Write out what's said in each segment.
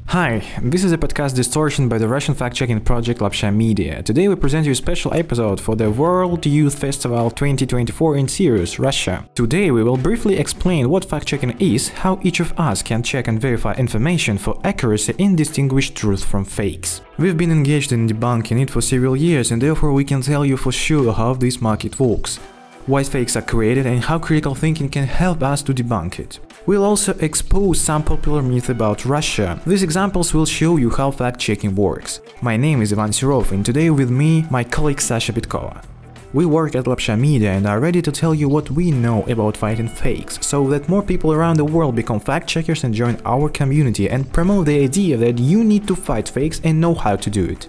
Hi, this is a podcast Distortion by the Russian fact-checking project Lapsha Media. Today we present you a special episode for the World Youth Festival 2024 in Sirius, Russia. Today we will briefly explain what fact-checking is, how each of us can check and verify information for accuracy and distinguish truth from fakes. We've been engaged in debunking it for several years and therefore we can tell you for sure how this market works, why fakes are created and how critical thinking can help us to debunk it. We'll also expose some popular myths about Russia. These examples will show you how fact-checking works. My name is Ivan Sirov and today with me, my colleague Sasha Bitkova. We work at Lapsha Media and are ready to tell you what we know about fighting fakes, so that more people around the world become fact-checkers and join our community and promote the idea that you need to fight fakes and know how to do it.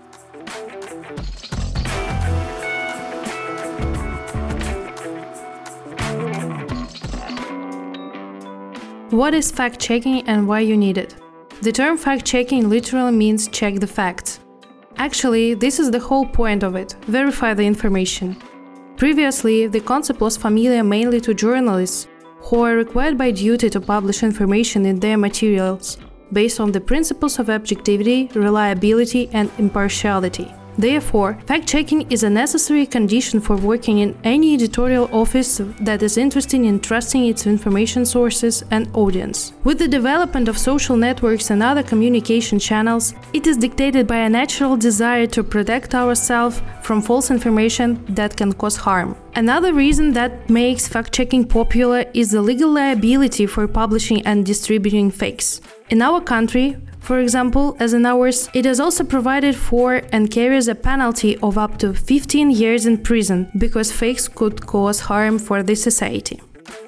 What is fact-checking and why you need it? The term fact-checking literally means check the facts. Actually, this is the whole point of it – verify the information. Previously, the concept was familiar mainly to journalists, who are required by duty to publish information in their materials, based on the principles of objectivity, reliability and impartiality. Therefore, fact-checking is a necessary condition for working in any editorial office that is interested in trusting its information sources and audience. With the development of social networks and other communication channels, it is dictated by a natural desire to protect ourselves from false information that can cause harm. Another reason that makes fact-checking popular is the legal liability for publishing and distributing fakes. In our country, for example, as in ours, it is also provided for and carries a penalty of up to 15 years in prison, because fakes could cause harm for the society.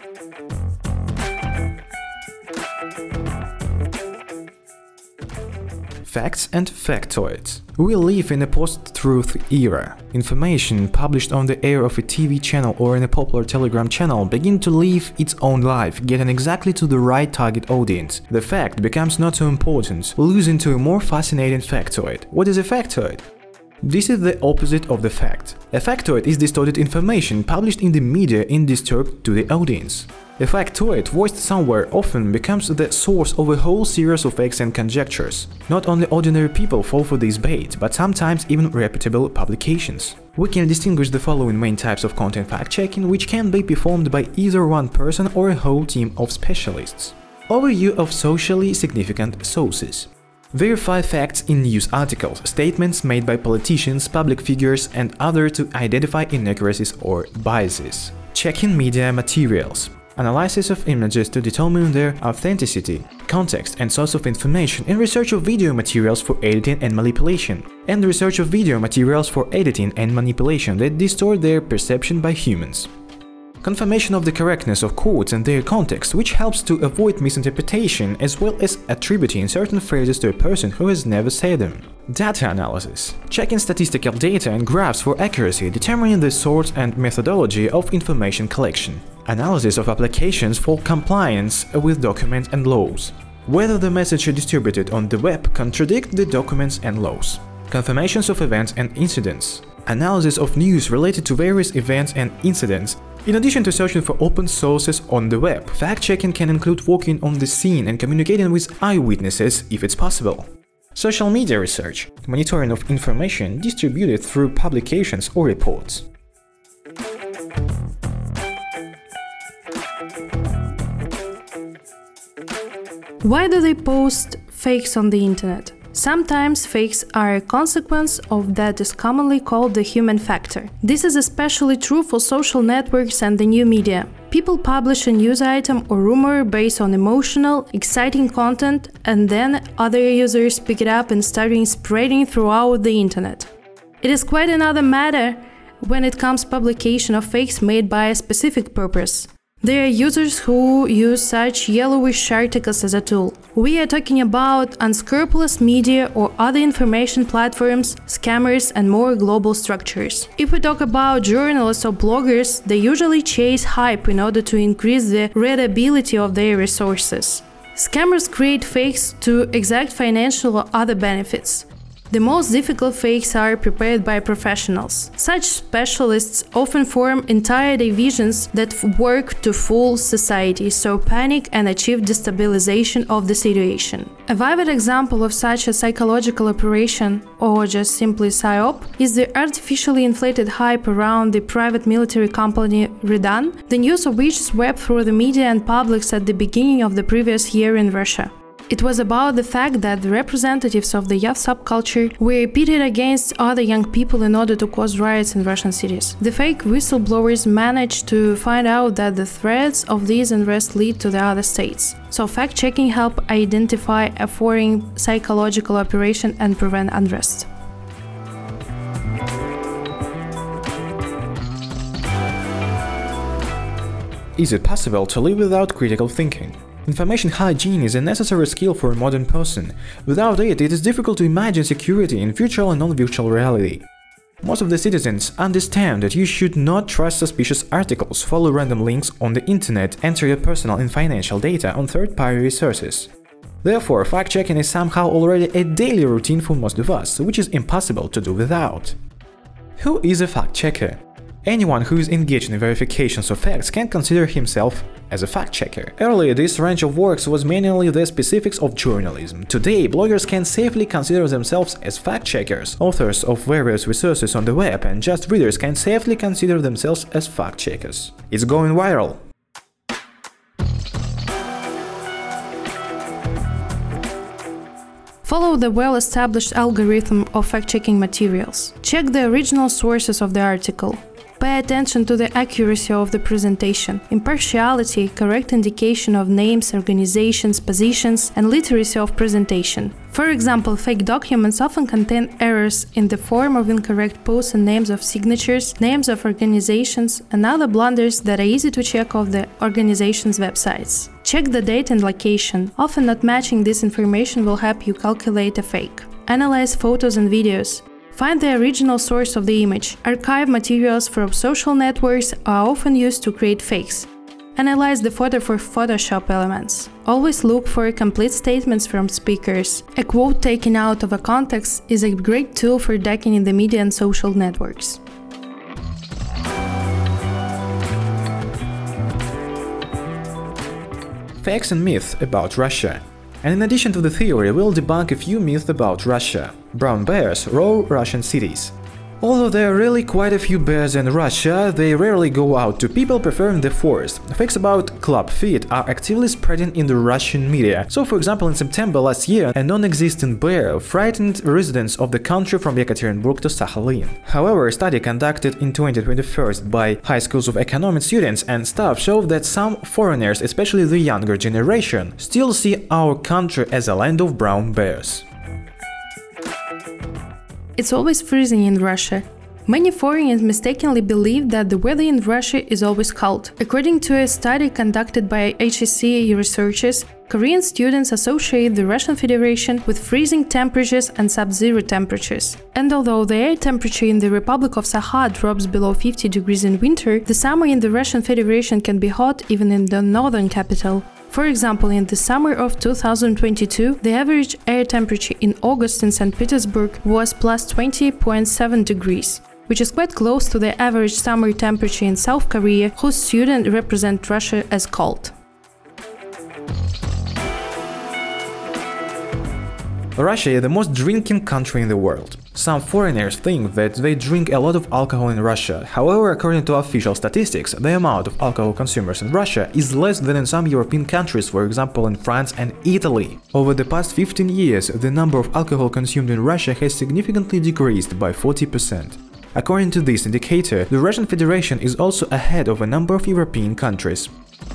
Facts and factoids. We live in a post-truth era. Information published on the air of a TV channel or in a popular Telegram channel begin to live its own life, getting exactly to the right target audience. The fact becomes not so important, losing to a more fascinating factoid. What is a factoid? This is the opposite of the fact. A factoid is distorted information published in the media and disturbed to the audience. A factoid voiced somewhere often becomes the source of a whole series of facts and conjectures. Not only ordinary people fall for this bait, but sometimes even reputable publications. We can distinguish the following main types of content fact-checking, which can be performed by either one person or a whole team of specialists. Overview of socially significant sources. Verify facts in news articles, statements made by politicians, public figures and others to identify inaccuracies or biases. Checking media materials. Analysis of images to determine their authenticity, context and source of information, and research of video materials for editing and manipulation, and research of video materials for editing and manipulation that distort their perception by humans. Confirmation of the correctness of quotes and their context, which helps to avoid misinterpretation as well as attributing certain phrases to a person who has never said them. Data analysis. Checking statistical data and graphs for accuracy, determining the source and methodology of information collection. Analysis of applications for compliance with documents and laws. Whether the message distributed on the web contradict the documents and laws. Confirmations of events and incidents. Analysis of news related to various events and incidents. In addition to searching for open sources on the web, fact-checking can include working on the scene and communicating with eyewitnesses if it's possible. Social media research. Monitoring of information distributed through publications or reports. Why do they post fakes on the internet? Sometimes fakes are a consequence of that is commonly called the human factor. This is especially true for social networks and the new media. People publish a news item or rumor based on emotional, exciting content, and then other users pick it up and start spreading throughout the internet. It is quite another matter when it comes to publication of fakes made by a specific purpose. There are users who use such yellowish articles as a tool. We are talking about unscrupulous media or other information platforms, scammers and more global structures. If we talk about journalists or bloggers, they usually chase hype in order to increase the readability of their resources. Scammers create fakes to exact financial or other benefits. The most difficult fakes are prepared by professionals. Such specialists often form entire divisions that work to fool society, sow panic and achieve destabilization of the situation. A vivid example of such a psychological operation, or just simply PSYOP, is the artificially inflated hype around the private military company Redan, the news of which swept through the media and publics at the beginning of the previous year in Russia. It was about the fact that the representatives of the youth subculture were pitted against other young people in order to cause riots in Russian cities. The fake whistleblowers managed to find out that the threads of these unrest lead to the other states. So fact-checking helped identify a foreign psychological operation and prevent unrest. Is it possible to live without critical thinking? Information hygiene is a necessary skill for a modern person. Without it, it is difficult to imagine security in virtual and non-virtual reality. Most of the citizens understand that you should not trust suspicious articles, follow random links on the internet, enter your personal and financial data on third-party resources. Therefore, fact-checking is somehow already a daily routine for most of us, which is impossible to do without. Who is a fact-checker? Anyone who is engaged in verifications of facts can consider himself as a fact-checker. Earlier, this range of works was mainly the specifics of journalism. Today, bloggers can safely consider themselves as fact-checkers, authors of various resources on the web, and just readers can safely consider themselves as fact-checkers. It's going viral. Follow the well-established algorithm of fact-checking materials. Check the original sources of the article. Pay attention to the accuracy of the presentation, impartiality, correct indication of names, organizations, positions, and literacy of presentation. For example, fake documents often contain errors in the form of incorrect posts and names of signatures, names of organizations, and other blunders that are easy to check off the organization's websites. Check the date and location. Often not matching this information will help you calculate a fake. Analyze photos and videos. Find the original source of the image. Archive materials from social networks are often used to create fakes. Analyze the photo for Photoshop elements. Always look for complete statements from speakers. A quote taken out of a context is a great tool for decking in the media and social networks. Facts and myths about Russia. And in addition to the theory, we'll debunk a few myths about Russia. Brown bears roam Russian cities. Although there are really quite a few bears in Russia, they rarely go out to people preferring the forest. Facts about club feet are actively spreading in the Russian media. So, for example, in September last year, a non-existent bear frightened residents of the country from Yekaterinburg to Sakhalin. However, a study conducted in 2021 by high schools of economics students and staff showed that some foreigners, especially the younger generation, still see our country as a land of brown bears. It's always freezing in Russia. Many foreigners mistakenly believe that the weather in Russia is always cold. According to a study conducted by HSC researchers, Korean students associate the Russian Federation with freezing temperatures and sub-zero temperatures. And although the air temperature in the Republic of Sakha drops below 50 degrees in winter, the summer in the Russian Federation can be hot even in the northern capital. For example, in the summer of 2022, the average air temperature in August in St. Petersburg was plus 20.7 degrees, which is quite close to the average summer temperature in South Korea, whose students represent Russia as cold. Russia is the most drinking country in the world. Some foreigners think that they drink a lot of alcohol in Russia. However, according to official statistics, the amount of alcohol consumers in Russia is less than in some European countries, for example in France and Italy. Over the past 15 years, the number of alcohol consumed in Russia has significantly decreased by 40%. According to this indicator, the Russian Federation is also ahead of a number of European countries.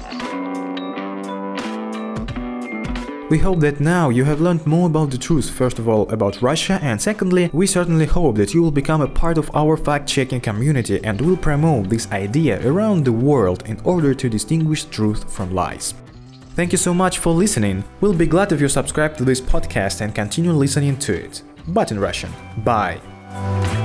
We hope that now you have learned more about the truth, first of all about Russia, and secondly, we certainly hope that you will become a part of our fact-checking community and will promote this idea around the world in order to distinguish truth from lies. Thank you so much for listening. We'll be glad if you subscribe to this podcast and continue listening to it. But in Russian. Bye!